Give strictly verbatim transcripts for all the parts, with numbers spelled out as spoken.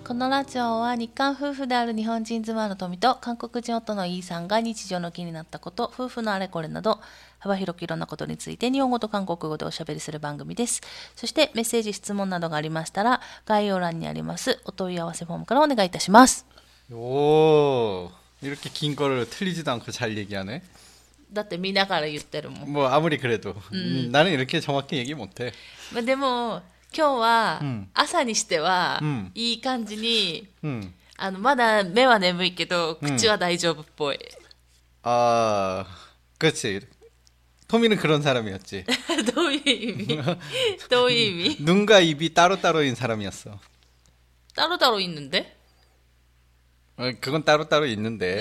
このラジオは日韓夫婦である日本人妻の富と韓国人夫のイーさんが日常の気になったこと、夫婦のあれこれなど幅広くいろんなことについて日本語と韓国語でおしゃべりする番組です。そしてメッセージ、質問などがありましたら概要欄にありますお問い合わせフォームからお願いいたします。 오, 이렇게 긴 거를 틀리지도 않고 잘 얘기하네. だって見ながら言ってるもん。 뭐 아무리 그래도 음. 나는 이렇게 정확히 얘기 못해. まあでも今日はうん朝にしてはうんいい感じに、 음. あのまだ目は眠いけど口は大丈夫っぽい。 아, 그렇지. 토미는 그런 사람이었지. どういう意味どういう意味 눈과 입이 따로따로인 사람이었어. 따로따로 있는데? 어, 그건 따로따로 있는데.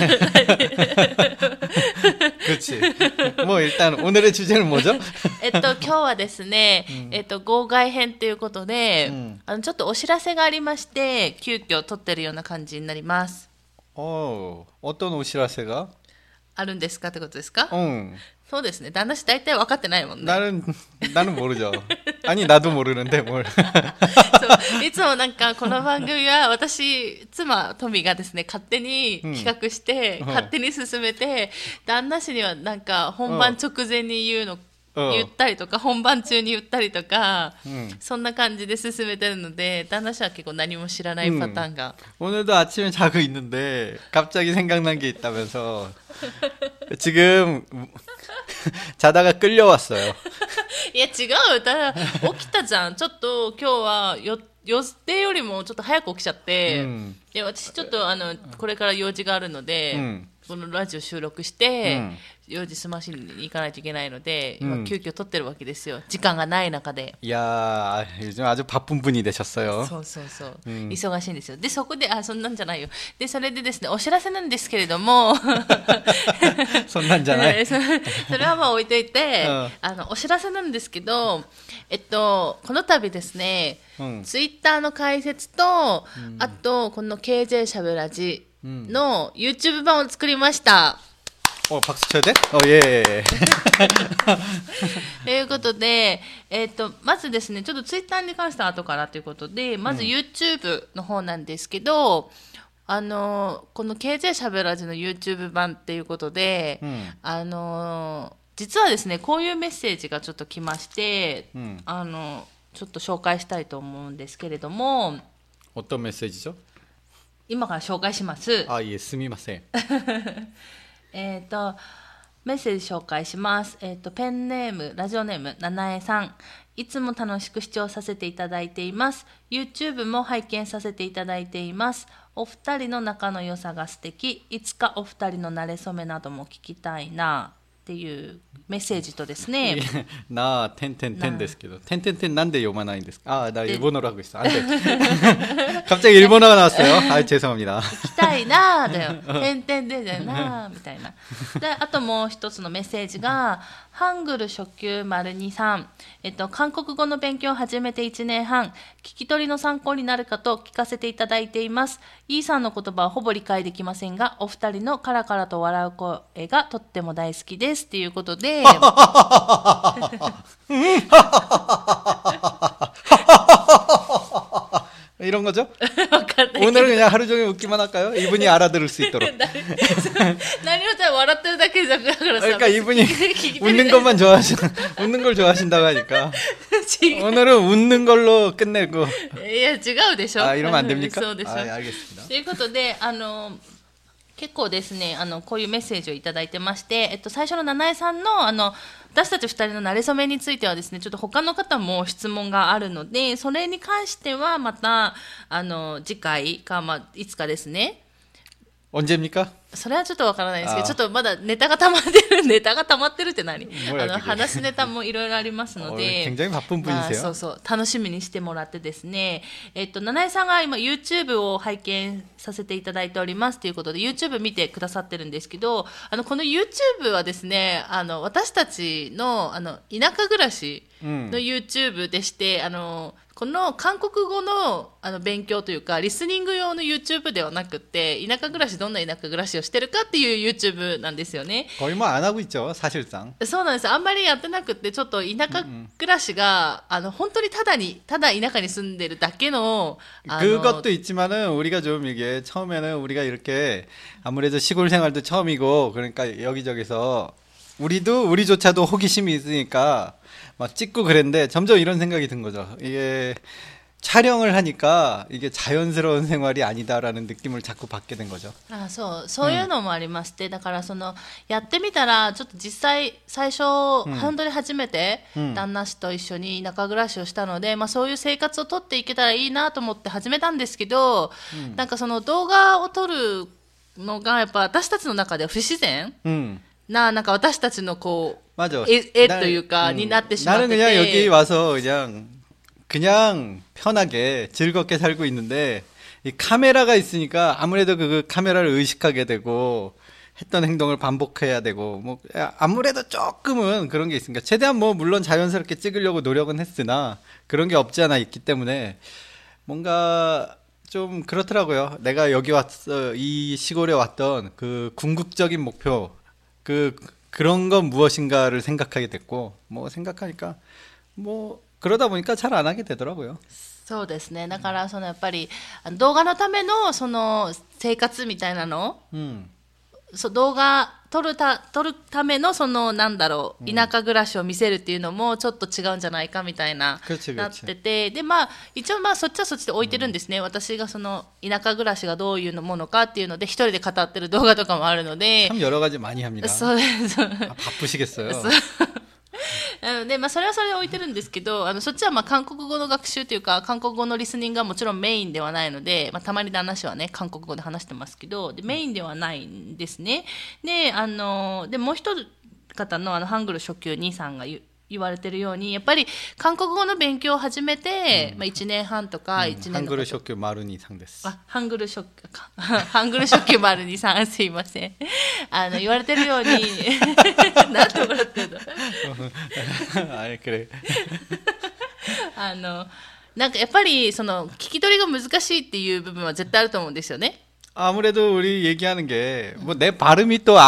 그렇지. 뭐 일단 오늘의 주제는 뭐죠? えっと今日はですね、えっと号外編ということで、 うん、 あのちょっとお知らせがありまして急遽撮ってるような感じになります。 어, 어떤 오시라세가? あるんですかってことですか？ 응. そうですね。旦那氏大体分かってないもんね。 나는 나는 모르죠. 아니 나도 모르는데 뭘. そういつもなんかこの番組は私妻トミがですね勝手に企画して、 うん勝手に進めて、旦那氏にはなんか本番直前に言うの、 うん言ったりとか本番中に言ったりとか、 うん、 そんな感じで進めてるので旦那氏は結構何も知らないパターンが、 오늘도 아침에 자고 있는데 갑자기 생각난 게 있다면서 지금 자다가 끌려왔어요. いや違う、だ起きたじゃん。ちょっと今日はよ予定よりもちょっと早く起きちゃって、 うん、 で私ちょっとあのこれから用事があるので、うん、このラジオ収録して、うん、用事済ましに行かないといけないので、うん、今急遽撮ってるわけですよ。時間がない中で。 いやー、요즘 아주 바쁜 분이 되셨어요. そうそうそう、 うん、 忙しいんですよ。でそこであそんなんじゃないよ。でそれでですねお知らせなんですけれどもそんなんじゃないそれはまあ置いといて、うん、あのお知らせなんですけど、えっとこの度ですね、うん、ツイッターの解説と、うん、あとこの ケージェー しゃべらじの YouTube 版を作りました。 어, 박수 쳐야 돼? 어, 예. ということで、えっと、まずですね、ちょっとツイッターに関しては後からということで、まず YouTube の方なんですけど、うん、あの、この ケージェー しゃべらじの YouTube 版っていうことで、うん、あの、実はですね、こういうメッセージがちょっと来まして、うん、あの、ちょっと紹介したいと思うんですけれども、 어떤 메시지죠? 今から紹介します。 아, 예, すみません。 えっとメッセージ紹介します。えっとペンネームラジオネームななえさん、いつも楽しく視聴させていただいています。 YouTube も拝見させていただいています。お二人の仲の良さが素敵、いつかお二人の馴れ初めなども聞きたいなっていうメッセージとですね、 나 텐텐텐ですけど 텐텐텐 난데 요만한ですか? 아, 나 일본어로 하고 있어. 안 돼. 갑자기 일본어가 나왔어요. 아, 죄송합니다. 聞きたいなだよ。点々でだよなみたいな。で、あともう一つのメッセージがハングル初級 ②さん、えっと韓国語の勉強を始めていちねんはん、聞き取りの参考になるかと聞かせていただいています。イーさんの言葉はほぼ理解できませんが、お二人のカラカラと笑う声がとっても大好きですっていうことで。이런 거죠? 오늘은 그냥 하루 종일 웃기만 할까요? 이분이 알아들을 수 있도록. 何を笑ってるだけじゃだからさ。 그러니까 이분이 웃는 것만 좋아하시, 웃는 걸 좋아하신다고 하니까. 오늘은 웃는 걸로 끝내고. いや違うでしょ。 아, 이러면 안 됩니까? そうでしょ。 아, 알겠습니다. ということで、あの結構ですね、あのこういうメッセージをいただいてまして、えっと、最初の七重さんのあの私たちふたりの馴れ初めについてはですね、ちょっと他の方も質問があるので、それに関してはまたあの次回か、まあ、いつかですね。 언제입니까? それはちょっとわからないですけど、ちょっとまだネタが溜まってる、ネタが溜まってるって何？あの話ネタもいろいろありますので、 굉장히 바쁜 분이세요. まあ、そうそう楽しみにしてもらってですね、えっと七重さんが今 YouTube を拝見させていただいておりますということで YouTube 見てくださってるんですけど、あのこの YouTube はですね、あの私たちのあの田舎暮らしの YouTube でして、あのこの韓国語 の, あの勉強というかリスニング用の YouTube ではなくて田舎暮らしどんな田舎暮らしをしてるかっていう YouTube なんですよね。 거의 뭐 안 하고 있죠, 사실상. そうなんです。あんまりやってなくてちょっと田舎暮らしが、うんうん、あの本当にただにただ田舎に住んでるだけの、あの 그것도 있지만은 우리가 좀 이게 처음에는 우리가 이렇게 아무래도 시골 생활도 처음이고 그러니까 여기저기서 우리도 우리조차도 호기심이 있으니까 막 찍고 그랬는데 점점 이런 생각이 든 거죠. 이게 촬영을 하니까 이게 자연스러운 생활이 아니다라는 느낌을 자꾸 받게 된 거죠. あ、そう、そういうのもありまして、うん、だからそのやってみたらちょっと実際最初、うん、本当に初めて旦那氏と一緒に田舎暮らしをしたので、まあそういう生活を撮っていけたらいいなと思って始めたんですけど、うん、なんかその動画を撮るのがやっぱ私たちの中では不自然、うん、ななんか私たちのこう絵絵というかになってしまってて、 나는 그냥 여기 와서 그냥 그냥 편하게 즐겁게 살고 있는데 이 카메라가 있으니까 아무래도 그 카메라를 의식하게 되고 했던 행동을 반복해야 되고 뭐 아무래도 조금은 그런 게 있으니까 최대한 뭐 물론 자연스럽게 찍으려고 노력은 했으나 그런 게 없지 않아 있기 때문에 뭔가 좀 그렇더라고요. 내가 여기 왔어, 이 시골에 왔던 그 궁극적인 목표, 그 그런 건 무엇인가를 생각하게 됐고, 뭐 생각하니까 뭐 그러다 보니까 잘 안 하게 되더라고요. そうですね。だからそのやっぱり動画のためのその生活みたいなの、うん、そう動画撮るた撮るためのそのなんだろう、田舎暮らしを見せるっていうのもちょっと違うんじゃないかみたいななってて、でまあ一応まあそっちはそっちで置いてるんですね。うん、私がその田舎暮らしがどういうものかっていうので一人で語ってる動画とかもあるので。 참 여러 가지 많이 합니다. そうです。 あ、바쁘시겠어요. なので、まあ、それはそれで置いてるんですけど、あのそっちはまあ韓国語の学習というか韓国語のリスニングがもちろんメインではないので、まあ、たまに旦那氏はね韓国語で話してますけど、でメインではないんですね。で、あのでもう一方のあのハングル初級兄さんが言言われてるようにやっぱり韓国語の勉強を始めて、うん、まあ、いちねんはんとかいちねんの、うん、ハングル初級丸にさんです。あ、ハングル初級かハングル初級丸にさんすいません。あの言われてるようになんて笑ってるのあれくれあのなんかやっぱりその聞き取りが難しいっていう部分は絶対あると思うんですよね。 아무래도 우리 얘기하는 게 뭐 내 발음이 또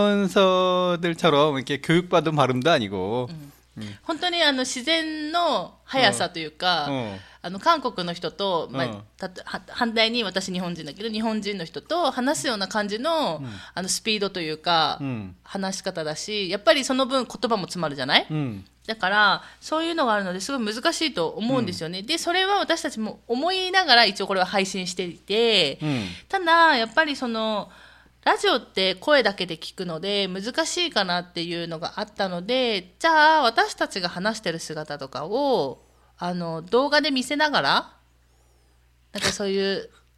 아나운서들처럼 이렇게 교육받은 발음도 아니고, 음. 本当にあの自然の速さというか、あの韓国の人と、まあ、た反対に私日本人だけど日本人の人と話すような感じ の,、うん、あのスピードというか、うん、話し方だし、やっぱりその分言葉も詰まるじゃない、うん、だからそういうのがあるのですごい難しいと思うんですよね、うん、でそれは私たちも思いながら一応これは配信していて、うん、ただやっぱりそのラジオって声だけで聞くので難しいかなっていうのがあったので、じゃあ私たちが話してる姿とかをあの動画で見せながらなんかそういう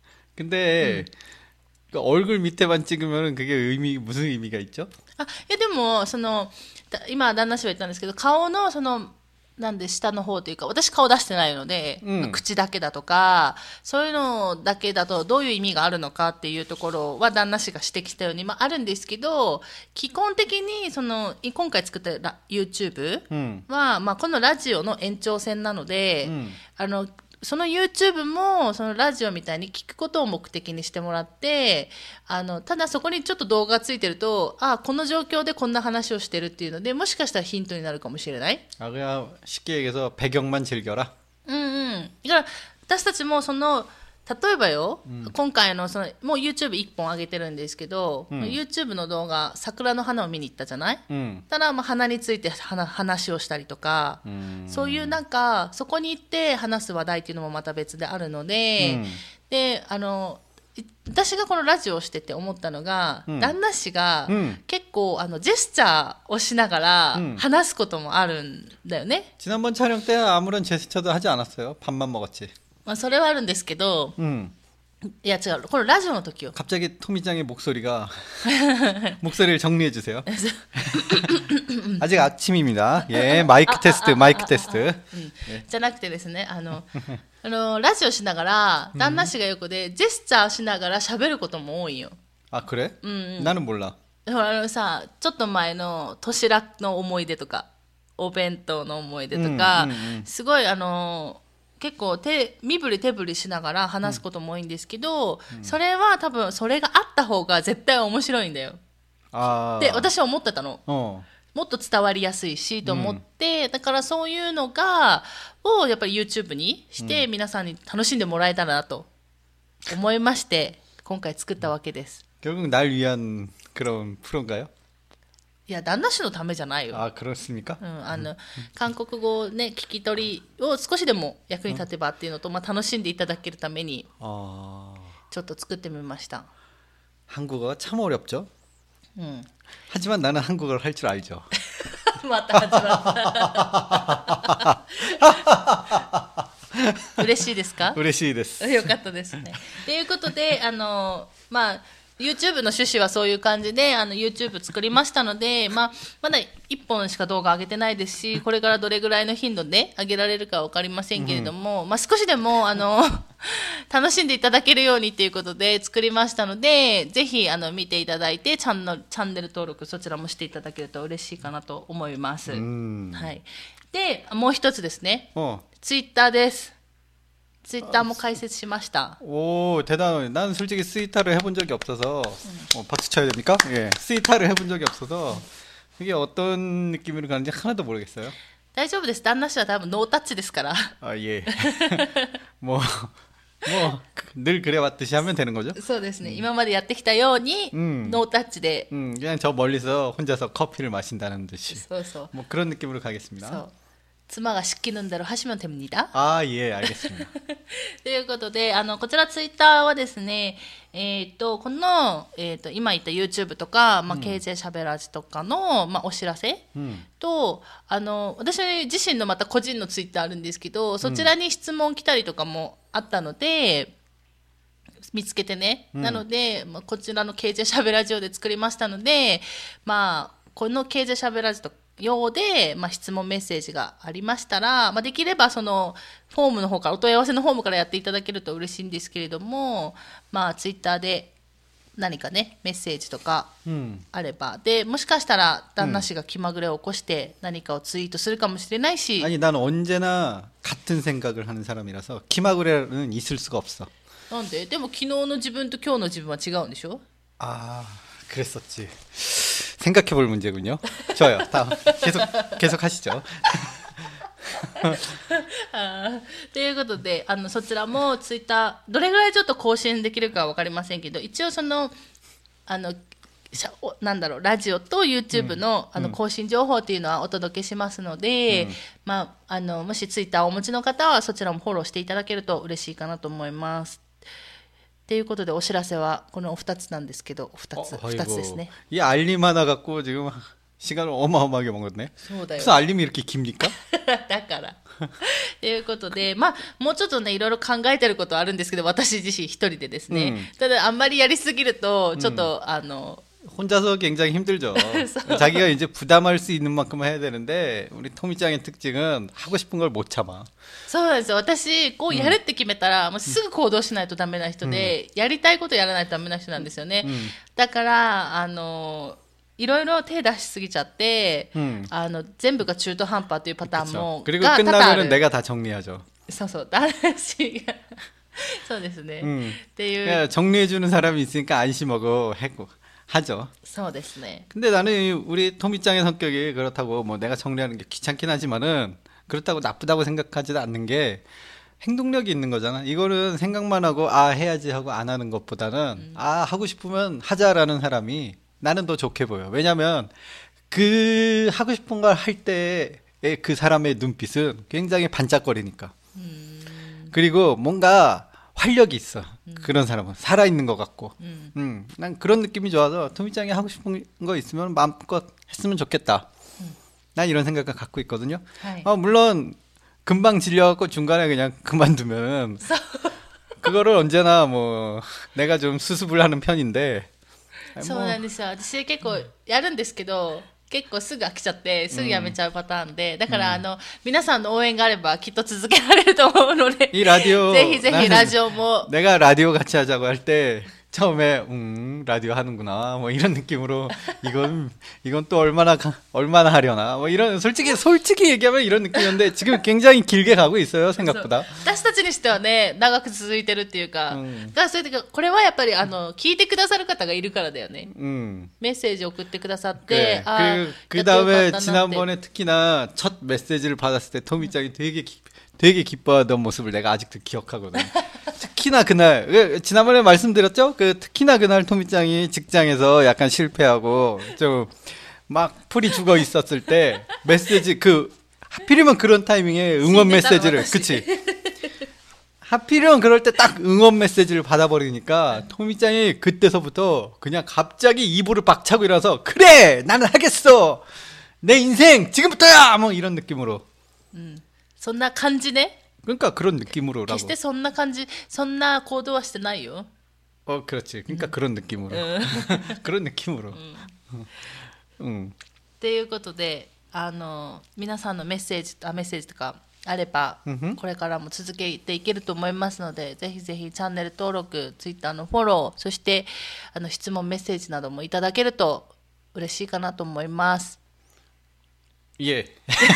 근데、うん、얼굴 밑에만 찍으면 그게 의미 무슨 의미가 있죠? あ、いやでもその今旦那氏は言ったんですけど顔のそのなんで下の方というか私顔出してないので、うん、口だけだとかそういうのだけだとどういう意味があるのかっていうところは旦那氏が指摘したように、まあ、あるんですけど基本的にその今回作った YouTube は、うん、まあ、このラジオの延長線なので、うん、あのその YouTube もそのラジオみたいに聞くことを目的にしてもらって、あのただそこにちょっと動画がついてると、あ、この状況でこんな話をしてるっていうのでもしかしたらヒントになるかもしれない。 あ、그냥 쉽게 얘기해서 배경만 즐겨라。 うんうん。だから私たちもその例えばよ、うん、今回のそのもう YouTube いっぽん上げてるんですけど、うん、YouTube の動画桜の花を見に行ったじゃない、うん、ただまあ花について話をしたりとか、うん、そういうなんかそこに行って話す話題っていうのもまた別であるので、うん、であの私がこのラジオをしてて思ったのが、うん、旦那氏が結構あのジェスチャーをしながら話すこともあるんだよね。 지난번 촬영 때 아무런 제스처도 하지 않았어요. 밥만 먹었지. まあそれはあるんですけど、うん、いや違う、このラジオの時よ。 갑자기 토미짱의 목소리가 목소리를 정리해 주세요. 아직 아침입니다. 예, 마이크 테스트, 마이크 테스트. じゃなくてですね、あのあのラジオしながら旦那氏が横でジェスチャーしながら喋ることも多いよ。 あ、그래? うん、うん。나는 몰라. ほらあのさ、ちょっと前の年ラの思い出とか。 お弁当の思い出とか、 うんうんうん、 すごいあの結構手身振り手振りしながら話すことも多いんですけど、うん、それは多分それがあった方が絶対面白いんだよ。 あで私は思ってたの。 もっと伝わりやすいしと思って、うん、だからそういうのがをやっぱり YouTube にして皆さんに楽しんでもらえたらなと思いまして今回作ったわけです。 결국날위한그런프로인가요？ いや旦那氏のためじゃないよ。 あ、그렇습니까？ うん、あの韓国語をね聞き取りを少しでも役に立てばっていうのと、まあ、楽しんでいただけるためにちょっと作ってみました。 한국어가 참 어렵죠? 응. 하지만 나는 한국어를 할 줄 알죠. 맞다, 맞다. 嬉しいですか？ 嬉しいです。 よかったですね。ということで、あのまあ YouTube の趣旨はそういう感じであの YouTube 作りましたので、まあ、まだいっぽんしか動画上げてないですし、これからどれぐらいの頻度で上げられるか分かりませんけれども、うん、まあ、少しでもあの楽しんでいただけるようにということで作りましたので、ぜひあの見ていただいてチャンネル、チャンネル登録そちらもしていただけると嬉しいかなと思います。はい、でもう一つですね、Twitter です。ツイッターも開設しました。 오 대단해. 난 솔직히 스위타를 해본 적이 없어서 음. 어, 박수 쳐야 됩니까? 예, 스위타를 해본 적이 없어서 이게 어떤 느낌으로 가는지 하나도 모르겠어요. 大丈夫です。旦那氏は多分ノータッチですから。 あ、예. 뭐 뭐 늘 그래왔듯이 하면 되는 거죠? そうですね。今までやってきたように 음. ノータッチで 음, 그냥 저 멀리서 혼자서 커피를 마신다는 듯이. そうそう。 뭐 그런 느낌으로 가겠습니다. そう。妻が시키는 대로 하시면 됩니다. 아, 예, 알겠습니다. ということで、あのこちらツイッターはですね、えっとこのえっと今言った YouTube とか、まあ、ケージェー しゃべらじとかの、まあ、お知らせ、うん、とあの私自身のまた個人のツイッターあるんですけど、そちらに質問来たりとかもあったので、見つけてね、うん、なので、まあ、こちらの ケージェー しゃべらじで作りましたので、まあこの ケージェー しゃべらじとかようで、まあ、質問メッセージがありましたら、まあ、できればそのフォームの方からお問い合わせのフォームからやっていただけると嬉しいんですけれども、まあ、ツイッターで何かねメッセージとかあれば、うん、でもしかしたら旦那氏が気まぐれを起こして何かをツイートするかもしれないし、 아니 나는 언제나 같은 생각을 하는 사람이라서気まぐれ는 있을 수가 없어. なんで？でも昨日の自分と今日の自分は違うんでしょ？ 아 그랬었지. 생각해볼 문제군요. 좋아요. 다음 계속 계속 하시죠. ということで、あのそちらもツイッターどれぐらいちょっと更新できるかは分かりませんけど、一応そのあのなんだろうラジオと YouTube の、うん、あの更新情報っていうのはお届けしますので、うん、まああのもしツイッターをお持ちの方はそちらもフォローしていただけると嬉しいかなと思います。ということでお知らせはこのふたつなんですけど、ふたつ、ふたつですね。 이 알림 하나 갖고 지금 시간을 어마어마하게 먹었네. そうだよ。 무슨 알림이 이렇게 깁니까? だから。ということで、まあもうちょっとねいろいろ考えてることはあるんですけど、私自身一人でですね。うん、ただあんまりやりすぎるとちょっと、うん、あの。 혼자서 굉장히 힘들죠. 자기가 이제 부담할 수 있는 만큼 해야 되는데 우리 토미짱의 특징은 하고 싶은 걸 못 참아. そうなんですよ。私こうやるって決めたら、もうすぐ行動しないとダメな人で、やりたいことやらないとダメな人なんですよね。だからあのいろいろ手出しすぎちゃって、あの全部が中途半端というパターンも 그리고 끝나면은 내가 다 정리하죠. そうそう。私がそうですね。っていう 정리해 주는 사람이 있으니까 안심하고 했고. 하죠. そうですね. 근데 나는 우리 토미짱의 성격이 그렇다고 뭐 내가 정리하는 게 귀찮긴 하지만은 그렇다고 나쁘다고 생각하지도 않는 게 행동력이 있는 거잖아. 이거는 생각만 하고 아 해야지 하고 안 하는 것보다는 음. 아 하고 싶으면 하자라는 사람이 나는 더 좋게 보여. 왜냐면 그 하고 싶은 걸 할 때의 그 사람의 눈빛은 굉장히 반짝거리니까. 음. 그리고 뭔가 활력이 있어. 음. 그런 사람은 살아있는 것 같고. 음. 음, 난 그런 느낌이 좋아서 토미짱이 하고 싶은 거 있으면 마음껏 했으면 좋겠다. 음. 난 이런 생각을 갖고 있거든요. 어, 물론 금방 질려갖고 중간에 그냥 그만두면 그거를 언제나 뭐 내가 좀 수습을 하는 편인데. そうなんですよ。私結構やるんですけど、結構すぐ飽きちゃってすぐやめちゃうパターンで、だからあの皆さんの応援があればきっと続けられると思うので、 이 라디오 ぜひぜひラジオも 내가 라디오 같이 하자고 할 때 처음에 음 라디오 하는구나 뭐 이런 느낌으로 이건 이건 또 얼마나 가, 얼마나 하려나 뭐 이런 솔직히 솔직히 얘기하면 이런 느낌이었는데 지금 굉장히 길게 가고 있어요 생각보다. 私たちにしてはね長く続いてるっていうか、うん、だからそれでこれはやっぱりあの聞いてくださる方がいるからだよね。うん、メッセージを送ってくださって、아 그 그 다음에 지난번에 특히나 첫 메시지를 받았을 때 토미짱이 되게 기, 되게 기뻐하던 모습을 내가 아직도 기억하거든. 특히나 그날 지난번에 말씀드렸죠? 그 특히나 그날 토미짱이 직장에서 약간 실패하고 좀 막 풀이 죽어 있었을 때 메시지 그 하필이면 그런 타이밍에 응원 메시지를 그치? 하필이면 그럴 때 딱 응원 메시지를 받아버리니까 토미짱이 그때서부터 그냥 갑자기 이불을 박차고 일어나서 그래 나는 하겠어 내 인생 지금부터야 뭐 이런 느낌으로. 음, そんな感じね. 그러니까 그런 느낌으로라고. 決してそんな感じそんな行動はしてないよ. 어 그렇지. 그러니까 음. 그런 느낌으로. 그런 느낌으로. 음. 음. ということであの皆さんのメッセージあメッセージとかあれば、mm-hmm. これからも続けていけると思いますので、ぜひぜひチャンネル登録、ツイッターのフォロー、そしてあの質問メッセージなどもいただけると嬉しいかなと思います。 예.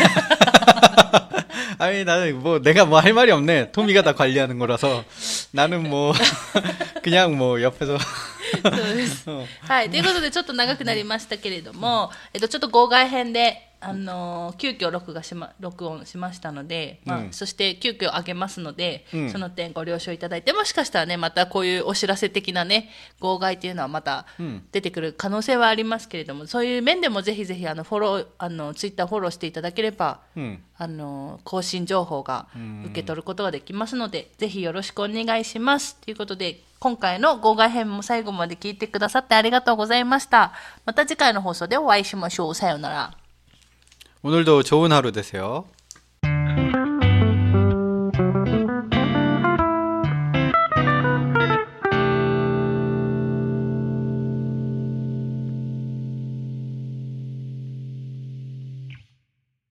아니 나는 뭐 내가 뭐 할 말이 없네. 토미가 다 관리하는 거라서 나는 뭐 그냥 뭐 옆에서 そうです。はい、ということでちょっと長くなりましたけれども、えっとちょっと号外編であの急遽録画しま録音しましたので、まあ、うん、そして急遽上げますので、うん、その点ご了承いただいて、もしかしたらねまたこういうお知らせ的なね号外っていうのはまた出てくる可能性はありますけれども、そういう面でもぜひぜひあのフォローあのツイッターフォローしていただければ、うん、あの更新情報が受け取ることができますので、ぜひよろしくお願いしますということで、今回の号外編も最後まで聞いてくださってありがとうございました。また次回の放送でお会いしましょう。さようなら。 오늘도 좋은 하루 되세요.